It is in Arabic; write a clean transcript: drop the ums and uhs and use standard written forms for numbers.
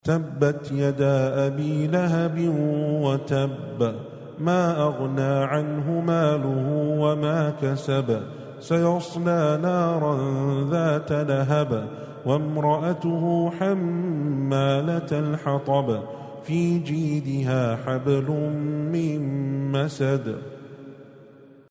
تبت يدا أبي لهب وتب ما أغنى عنه ماله وما كسب سيصلى نارا ذات لهب وامرأته حمالة الحطب في جيدها حبل من مسد